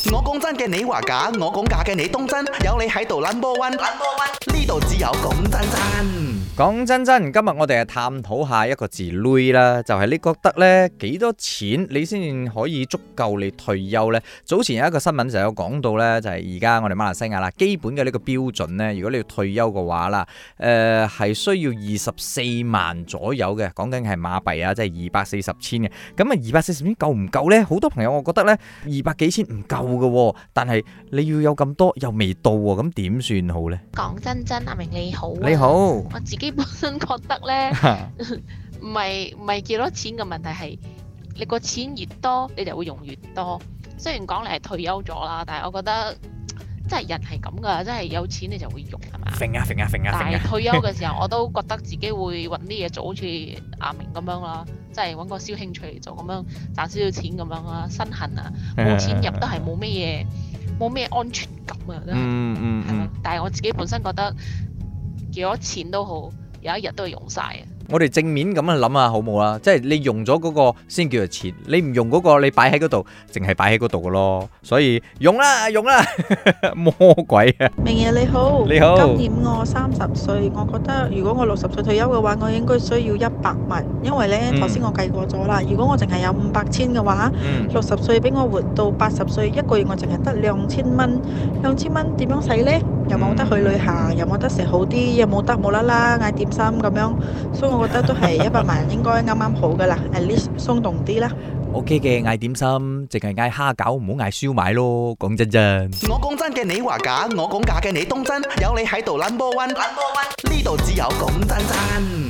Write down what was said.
我講真嘅，你話假；我講假嘅，你當真。有你喺度 number one，呢度只有講真真。 講真真，今日我哋係探討下一個字累啦，就係你覺得呢幾多錢你先可以足夠你退休呢？早前有一個新聞就有講到呢，就係而家我哋馬來西亞啦，基本嘅呢個標準呢，如果你要退休嘅話啦，係需要24萬左右嘅，講緊係馬幣啊，即係240千嘅。咁啊240千夠唔夠呢？好多朋友我覺得呢200幾千唔夠嘅，但係你要有咁多又未到喎，咁點算好呢？ 講真真，阿明你好， 你好， 我自己本身覺得呢，唔係幾多錢嘅問題，係你個錢越多，你就會用越多。雖然講你係退休咗啦，但係我覺得真係人係咁噶，真係有錢你就會用係嘛？但係退休嘅時候，我都覺得自己會揾啲嘢做，好似阿明咁樣啦，即係揾個小興趣嚟做，咁樣賺少少錢咁樣啦，身痕啊，冇錢入都係冇咩安全感啊，真係，係咪？但係我自己本身覺得幾多錢都好，有一日都會用晒啊！ 我哋正面咁樣諗下好冇啦，即係你用咗嗰個先叫做錢，你唔用嗰個你擺喺嗰度，淨係擺喺嗰度嘅咯。所以用啦，魔鬼啊！ 明爺你好， 你好。 今年我30歲，我覺得如果我60歲退休嘅話，我應該需要100萬，因為呢頭先我計過咗啦，如果我淨係有500千嘅話，60歲俾我活到80歲，一個月我淨係得2000蚊，2000蚊點樣使呢？又冇得去旅行，又冇得食好啲，又冇得無啦啦嗌點心咁樣，所以我覺得都係100萬應該啱啱好噶啦，at least 鬆動啲啦。 OK 嘅，嗌點心，淨係嗌蝦餃，唔好嗌燒賣咯。講真真， 我講真嘅，你話假；我講假嘅，你當真。有你喺度 number one，呢度只有講真真。